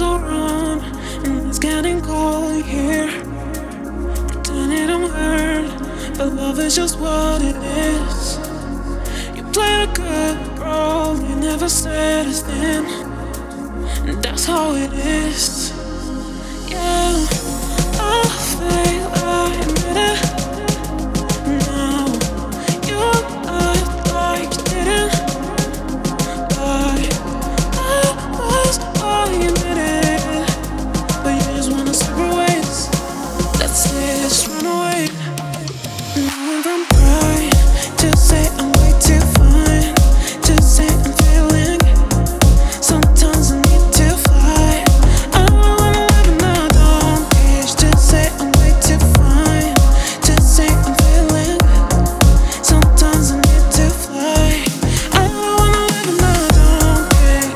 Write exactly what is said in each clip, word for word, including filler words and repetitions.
Feelings are wrong, and it's getting cold here. Pretend it don't hurt, but love is just what it is. You play a good role, you never said a thing, and that's how it is. Yeah, I fail, I admit it. Now you act like you didn't. I, I was all you admitted, but you just wanna separate ways. Let's say just run away. Now I'm from pride to say I'm way too fine, to say I'm failing. Sometimes I need to fly. I don't wanna live in a dumb cage. To say I'm way too fine, to say I'm failing. Sometimes I need to fly. I don't wanna live in a dumb cage.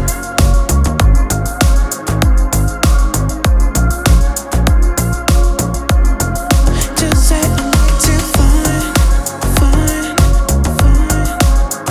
To say I'm way too fine, fine, fine, fine.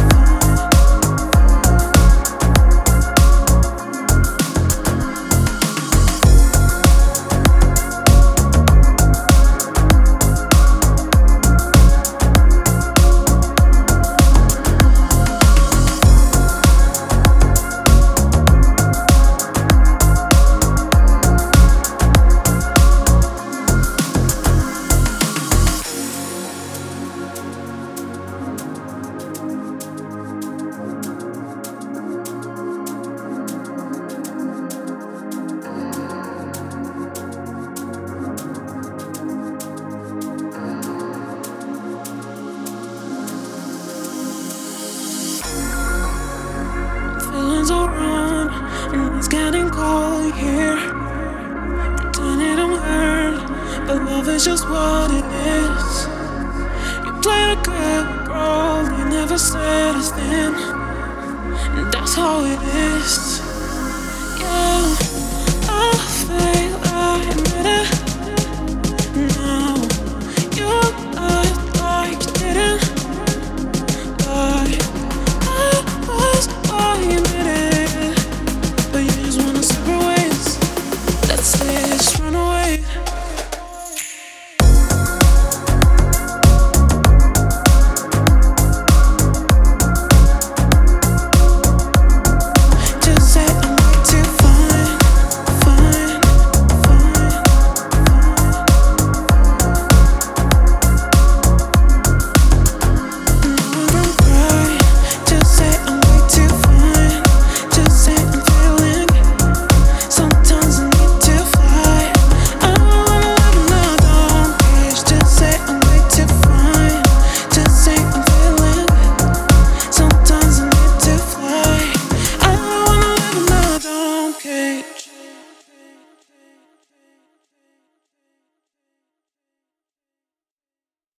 Feelings are wrong, and it's getting cold here. Pretend it don't hurt, but love is just what it is. You play a good role, you never said a thing, and that's how it is. Yeah.